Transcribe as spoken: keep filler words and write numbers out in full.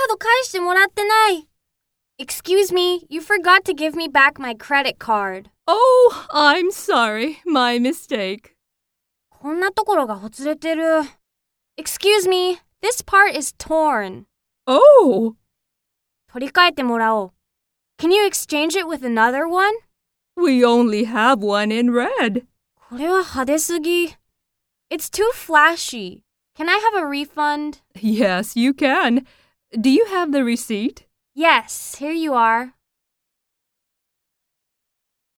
ード返してもらってない。Excuse me, you forgot to give me back my credit card. Oh, I'm sorry. My mistake. こんなところがほつれてる。Excuse me, this part is torn. Oh! 取り替えてもらおう。Can you exchange it with another one? We only have one in red. これは派手すぎ。It's too flashy. Can I have a refund? Yes, you can. Do you have the receipt? Yes, here you are.